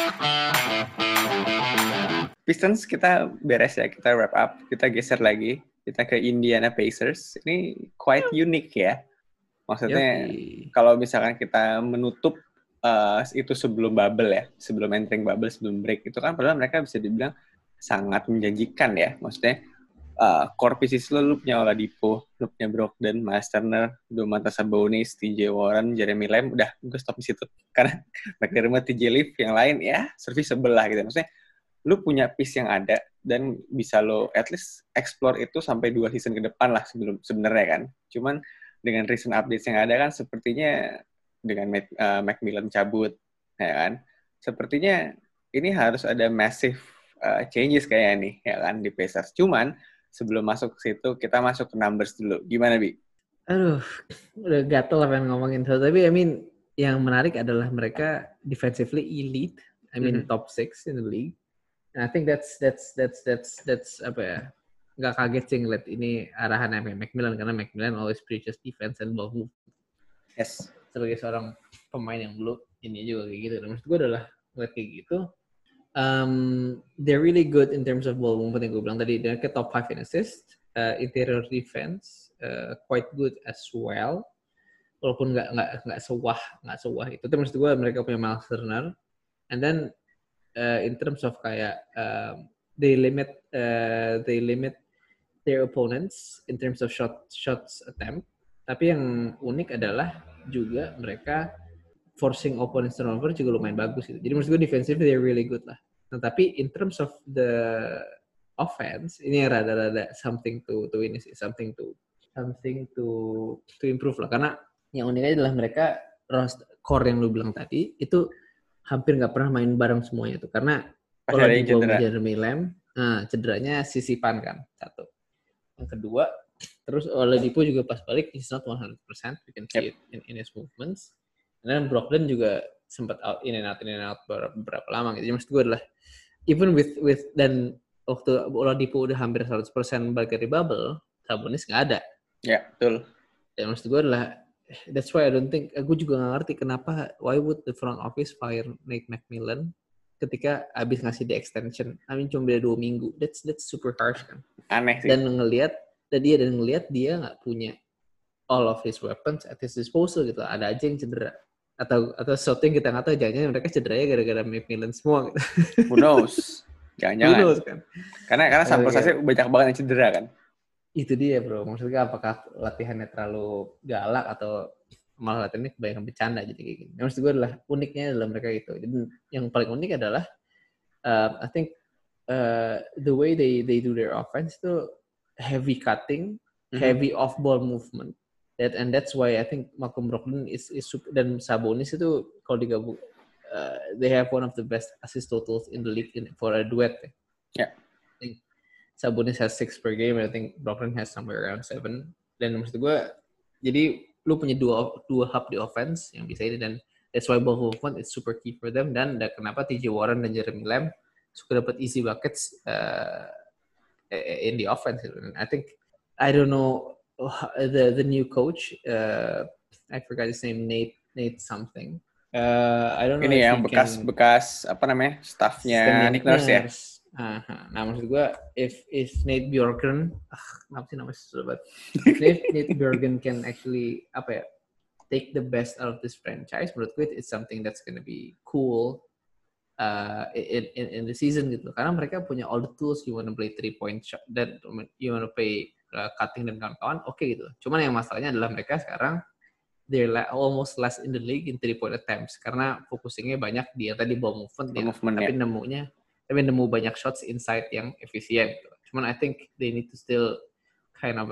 Pistons kita beres ya, kita wrap up, kita geser lagi, kita ke Indiana Pacers. Ini quite unique ya. Maksudnya kalau misalkan kita menutup itu sebelum bubble ya, sebelum entering bubble, sebelum break, itu kan padahal mereka bisa dibilang sangat menjanjikan ya. Maksudnya core pieces lu punya Oladipo, lu punya Brogdon, Miles Turner, Domantas Sabonis, TJ Warren, Jeremy Lamb, udah gue stop di situ. Karena McDermott, TJ Leaf, yang lain ya serviceable lah gitu. Maksudnya lu punya piece yang ada dan bisa lo at least explore itu sampai 2 season ke depan lah sebelum sebenarnya kan. Cuman dengan recent updates yang ada kan sepertinya dengan Macmillan cabut ya kan. Sepertinya ini harus ada massive changes kayaknya nih ya kan di Pacers. Cuman sebelum masuk ke situ kita masuk ke numbers dulu. Gimana Bi? Aduh, udah gatel pengen ngomongin itu. Tapi I mean yang menarik adalah mereka defensively elite. I mean top 6 in the league. And I think that's apa ya? Nggak kaget sih ngeliat ini arahan Macmillan karena Macmillan always preaches defense and ball move. Yes. Sebagai seorang pemain yang dulu ini juga kayak gitu. Dan maksud gue adalah ngeliat kayak gitu. They're really good in terms of ball movement yang gue bilang tadi. Dia ke top 5 in assist, interior defense quite good as well. Walaupun nggak sewah itu. Tapi maksud gue mereka punya Miles Turner. And then in terms of kayak they limit their opponents in terms of shots attempt. Tapi yang unik adalah juga mereka forcing opponents turnover juga lumayan bagus gitu. Jadi menurut gue defensively they're really good lah. Nah, tapi in terms of the offense ini rada-rada something to ini sih, something to improve lah. Karena yang uniknya adalah mereka core yang lu bilang tadi itu hampir nggak pernah main bareng semuanya tuh. Karena kalau di Jeremy Lamb, cederanya sisipan kan satu. Yang kedua, terus Oladipo juga pas balik he's not 100%. We can see it in his movements. Dan Brogdon juga sempat in and out beberapa lama gitu. Jadi maksud gue adalah even with dan waktu Oladipo udah hampir 100% balik dari bubble, Sabonis nggak ada. Ya, betul. Dan maksud gue adalah that's why I don't think, gue juga nggak ngerti kenapa why would the front office fire Nate McMillan ketika abis ngasih the extension. I mean cuma beda 2 minggu. That's super harsh kan. Aneh sih. Dan ngelihat dia nggak punya all of his weapons at his disposal gitu. Ada aja yang cedera. Atau sesuatu yang kita nggak tahu, jangan-jangan mereka cederanya gara-gara McMillan semua gitu. Who knows? Jangan-jangan. Who knows kan? Karena sampel size banyak banget yang cedera kan. Itu dia bro. Maksudnya apakah latihannya terlalu galak atau malah latihannya kebanyakan bercanda jadi kayak gini. Maksud gue adalah uniknya adalah mereka itu. Jadi yang paling unik adalah I think the way they do their offense itu heavy cutting, heavy off ball movement. And that's why I think Malcolm Brogdon is dan Sabonis itu kalau digabung they have one of the best assist totals in the league for a duet. Yeah. I think Sabonis has 6 per game, and I think Brogdon has somewhere around 7. Dan maksud gue, jadi lu punya dua hub di offense yang bisa ini, dan that's why ball movement is super key for them. Dan kenapa TJ Warren dan Jeremy Lamb suka dapat easy buckets in the offense. And I think, I don't know, the new coach, I forgot his name, Nate something. I don't know. Ini yang bekas apa namanya, staffnya Nick Nurse ya. Nah maksud gue, if Nate Bjorkgren, kenapa sih namanya susah banget? Nate Bjorkgren can actually take the best out of this franchise, menurut gue it's something that's gonna be cool in the season gitu. Karena mereka punya all the tools, you wanna play 3-point shot, dan you wanna play cutting dan kawan-kawan, oke gitu. Cuman yang masalahnya adalah mereka sekarang they're almost less in the league in 3-point attempts karena focusingnya banyak di yang tadi ball movement tapi nemu banyak shots inside yang efisien gitu. Cuman I think they need to still kind of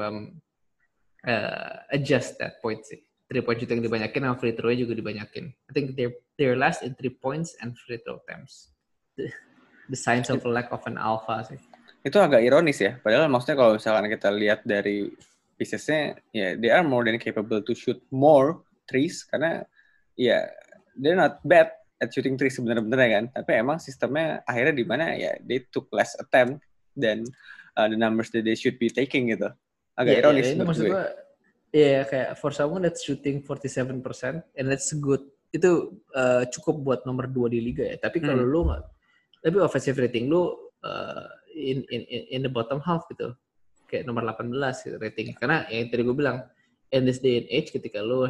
adjust that point sih. 3-point shooting dibanyakin sama free throw juga dibanyakin. I think they're last in 3 points and free throw attempts. The signs of a lack of an alpha sih. Itu agak ironis ya. Padahal maksudnya kalau misalkan kita lihat dari piecesnya, ya they are more than capable to shoot more threes karena ya they're not bad at shooting threes sebenarnya kan. Tapi emang sistemnya akhirnya di mana ya they took less attempt than the numbers that they should be taking gitu. Agak ironis menurut gue. Iya, kayak for someone that's shooting 47% and that's good cukup buat nomor 2 di liga ya. Tapi kalau lu nggak, tapi offensive rating lu in the bottom half gitu, kayak nomor 18 gitu rating. Karena yang tadi gue bilang, in this day and age ketika lu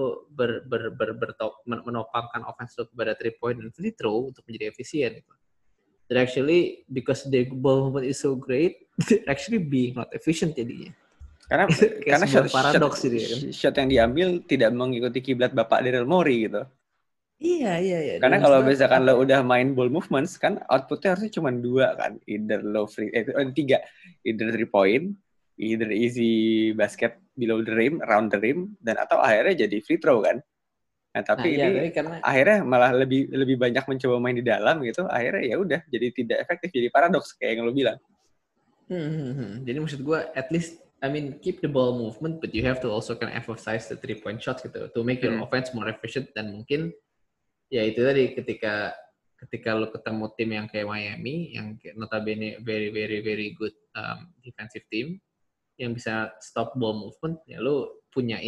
menopangkan offense lu kepada 3 point dan free throw untuk menjadi efisien gitu. They're actually, because the ball movement is so great, they're actually being not efficient jadinya. Karena shot yang diambil tidak mengikuti kiblat Bapak Daryl Morey gitu. Iya. Karena kalau misalkan lo udah main ball movements kan outputnya harusnya cuma 2 kan, either low free, 3, either 3 point, either easy basket below the rim, around the rim, dan atau akhirnya jadi free throw kan. Nah tapi ini akhirnya malah lebih banyak mencoba main di dalam gitu, akhirnya ya udah jadi tidak efektif, jadi paradoks kayak yang lo bilang. Jadi maksud gue, at least, I mean, keep the ball movement, but you have to also kind of emphasize the 3 point shots gitu, to make your offense more efficient. Dan mungkin, ya itu tadi, ketika lo ketemu tim yang kayak Miami, yang notabene very, very, very good defensive team, yang bisa stop ball movement, ya lo punya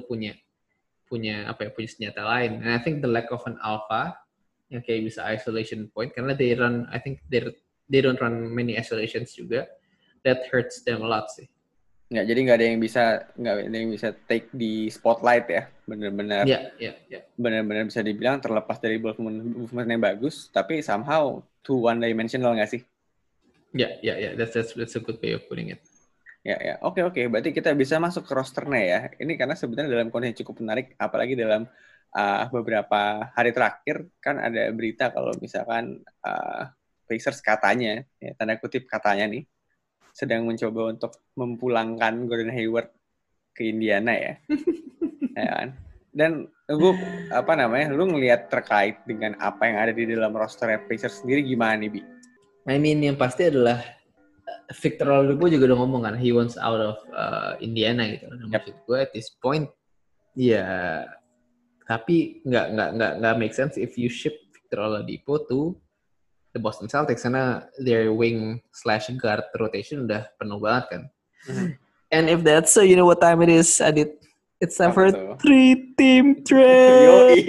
senjata lain. And I think the lack of an alpha, yang kayak bisa isolation point, karena they don't run many isolations juga, that hurts them a lot sih. Nggak, jadi nggak ada yang bisa take di spotlight ya, benar-benar. Benar-benar bisa dibilang terlepas dari movement yang bagus, tapi somehow too one dimensional nggak sih? Ya, that's a good way of putting it. Ya. Oke. Berarti kita bisa masuk ke rosternya ya. Ini karena sebenarnya dalam kondisi cukup menarik, apalagi dalam beberapa hari terakhir kan ada berita kalau misalkan Pacers katanya, ya, tanda kutip katanya nih, sedang mencoba untuk memulangkan Gordon Hayward ke Indiana ya. Ya kan? Dan lu ngelihat terkait dengan apa yang ada di dalam roster Pacers sendiri gimana nih, Bi? I mean, yang pasti adalah Victor Oladipo juga udah ngomong kan, he wants out of Indiana gitu. Maksud gue at this point, ya, tapi nggak make sense if you ship Victor Oladipo to the Boston Celtics karena their wing/guard rotation udah penuh banget kan. And if that's so, you know what time it is, Adit? It's time for 3-team trade.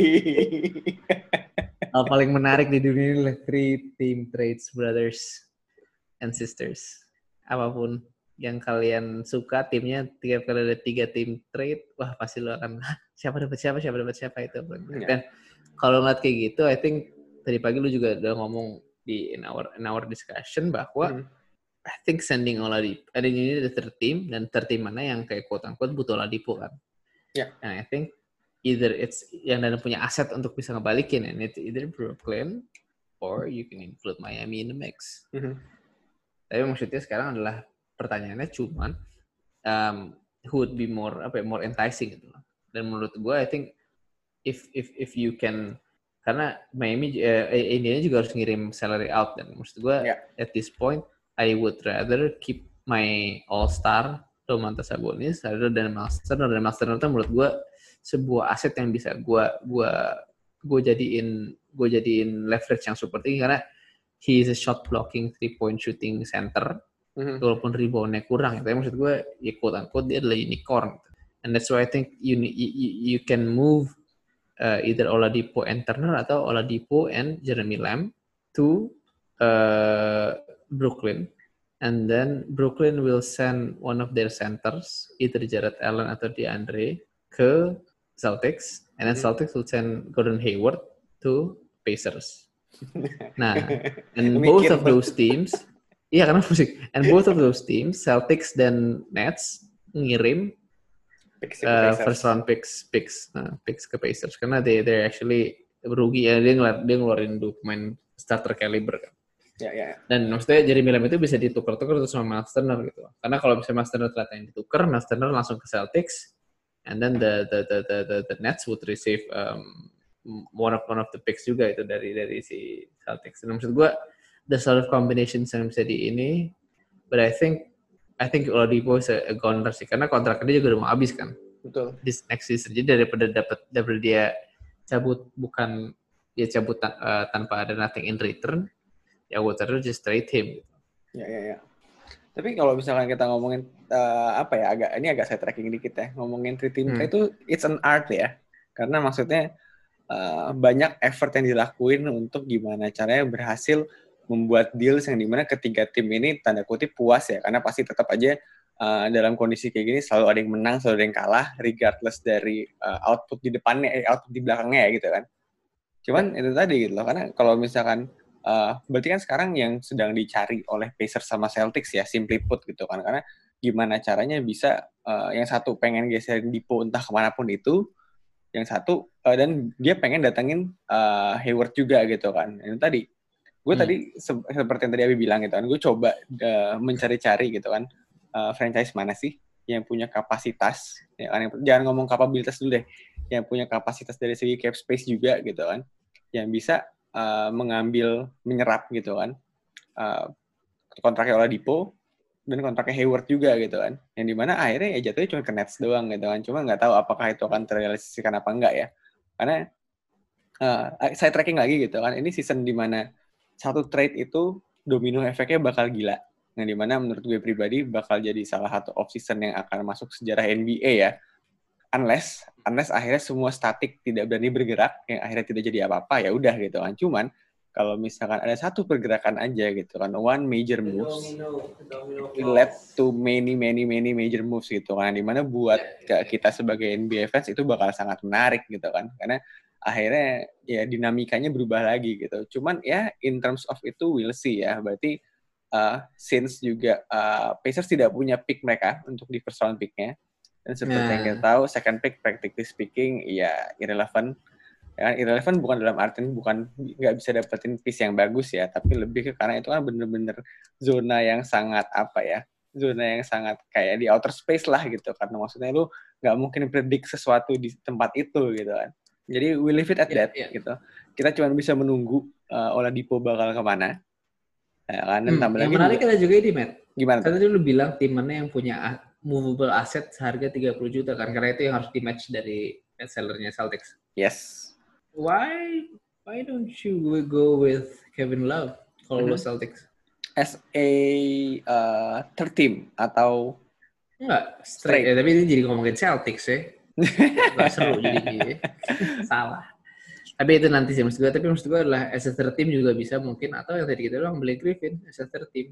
Hal paling menarik di dunia ini lah 3-team trades, brothers and sisters. Apapun yang kalian suka timnya, tiap kali ada 3 team trade, wah pasti lo akan siapa dapat siapa itu. Dan kalau ngeliat kayak gitu, I think tadi pagi lu juga udah ngomong in our discussion bahwa I think sending Oladipo, ada ini the third team, dan third team mana yang kayak quote-unquote butuh Oladipo kan. And I think either it's yang dan punya aset untuk bisa ngebalikin, and it's either Brooklyn or you can include Miami in the mix. Tapi maksudnya sekarang adalah pertanyaannya cuman who would be more enticing gitu. Dan menurut gue I think if you can, karena Miami Indiana juga harus ngirim salary out, dan maksud gue at this point I would rather keep my all-star Domantas Sabonis rather than Miles Turner. Dan Miles Turner itu menurut gue sebuah aset yang bisa gue jadiin leverage yang super tinggi karena he is a shot blocking 3-point shooting center. Walaupun reboundnya kurang, tapi maksud gue ya quote-unquote dia adalah unicorn. And that's why I think you can move either Oladipo and Turner atau Oladipo and Jeremy Lamb to Brooklyn, and then Brooklyn will send one of their centers, either Jared Allen atau DeAndre, ke Celtics, and then Celtics will send Gordon Hayward to Pacers. Nah, and both of those teams, karena musik, and both of those teams, Celtics dan Nets ngirim first round picks ke Pacers karena they're actually rugi ya, dia ngeluarin pemain starter caliber kan. Dan maksudnya Jeremy Lamb itu bisa ditukar-tukar terus sama Miles Turner gitu. Karena kalau misalnya Miles Turner ternyata yang ditukar, Miles Turner langsung ke Celtics, and then the Nets would receive one of the picks juga itu dari si Celtics. Dan maksud gue the sort of combinations yang bisa di ini, but I think Oladipo is a goner sih karena kontraknya dia juga udah mau habis kan. Betul. This next season. Jadi daripada dia cabut tanpa ada nothing in return, ya gue terus just trade him. Ya. Tapi kalau misalkan kita ngomongin agak side tracking dikit ya, ngomongin 3-team trade itu it's an art ya. Karena maksudnya banyak effort yang dilakuin untuk gimana caranya berhasil membuat deals yang dimana ketiga tim ini tanda kutip puas ya, karena pasti tetap aja dalam kondisi kayak gini selalu ada yang menang, selalu ada yang kalah, regardless dari output di depannya, output di belakangnya ya gitu kan. Cuman itu tadi gitu loh, karena kalau misalkan berarti kan sekarang yang sedang dicari oleh Pacers sama Celtics ya, simply put gitu kan, karena gimana caranya bisa yang satu pengen geserin Dipo entah kemanapun itu, yang satu dan dia pengen datengin Hayward juga gitu kan. Itu tadi gue tadi seperti yang tadi Abi bilang gitu kan, gue coba mencari-cari gitu kan franchise mana sih yang punya kapasitas ya kan, jangan ngomong kapabilitas dulu deh, yang punya kapasitas dari segi cap space juga gitu kan, yang bisa menyerap gitu kan kontraknya Oladipo dan kontraknya Hayward juga gitu kan, yang dimana akhirnya ya jatuhnya cuma ke Nets doang gitu kan, cuma nggak tahu apakah itu akan terrealisasikan apa enggak ya, karena saya tracking lagi gitu kan, ini season dimana satu trade itu domino efeknya bakal gila, yang dimana menurut gue pribadi bakal jadi salah satu off season yang akan masuk sejarah NBA ya, unless akhirnya semua statik tidak berani bergerak, yang akhirnya tidak jadi apa-apa ya udah gitu kan. Cuman kalau misalkan ada satu pergerakan aja gitu kan, one major moves will lead to many major moves gitu kan, dimana buat kita sebagai NBA fans itu bakal sangat menarik gitu kan, karena akhirnya ya dinamikanya berubah lagi gitu. Cuman ya in terms of itu we'll see ya, berarti since juga Pacers tidak punya pick mereka untuk di first round picknya, dan seperti yang kita tahu second pick practically speaking ya irrelevant ya kan, irrelevant bukan dalam artian bukan nggak bisa dapetin piece yang bagus ya, tapi lebih ke karena itu kan bener-bener zona yang sangat apa ya, zona yang sangat kayak di outer space lah gitu, karena maksudnya lu nggak mungkin predict sesuatu di tempat itu gitu kan. Jadi we leave it at that gitu. Kita cuma bisa menunggu Oladipo bakal kemana. Ya kan, dan tambah yang lagi menarik kita juga ini, Matt. Gimana tuh? Tadi lu bilang tim mana yang punya movable asset seharga 30 juta kan, karena itu yang harus di match dari sellernya Celtics. Yes. Why don't you go with Kevin Love kalau lo Celtics? As a third team atau enggak straight. Ya, tapi ini jadi ngomongin Celtics ya. Gak seru jadi salah. Tapi itu nanti sih maksud gue adalah as a third team juga bisa mungkin, atau yang tadi kita bilang Blake Griffin as a third team.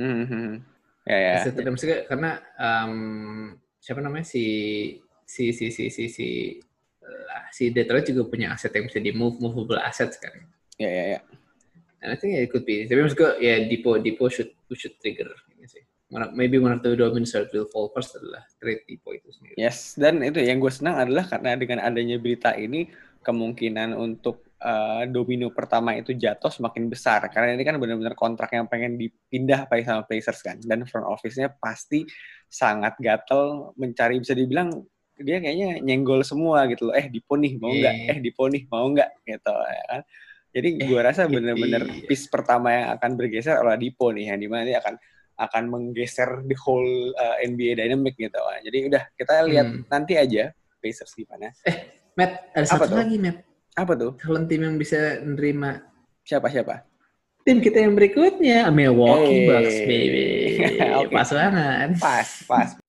Ya. As a third team maksudnya karena siapa namanya si Detroit juga punya aset yang bisa di movable assets kan. Ya. And I think it could be. Tapi maksud gue ya Dipo should trigger ini sih. Maybe one of the dominoes will fall first adalah trade Dipo itu sendiri. Yes, dan itu yang gue senang adalah karena dengan adanya berita ini kemungkinan untuk domino pertama itu jatuh semakin besar, karena ini kan benar-benar kontrak yang pengen dipindah sama Pacers kan, dan front office-nya pasti sangat gatel mencari, bisa dibilang dia kayaknya nyenggol semua gitu loh, Dipo nih mau nggak, Dipo nih mau nggak gitu ya kan. Jadi gue rasa benar-benar piece pertama yang akan bergeser adalah Dipo nih, yang dimana dia akan menggeser the whole NBA dynamic gitu. Jadi udah kita lihat nanti aja Pacers gimana. Matt, ada satu lagi, Matt. Apa tuh? Calon tim yang bisa nerima. Siapa? Tim kita yang berikutnya, Milwaukee Bucks, baby. Okay. Pas banget. Pas.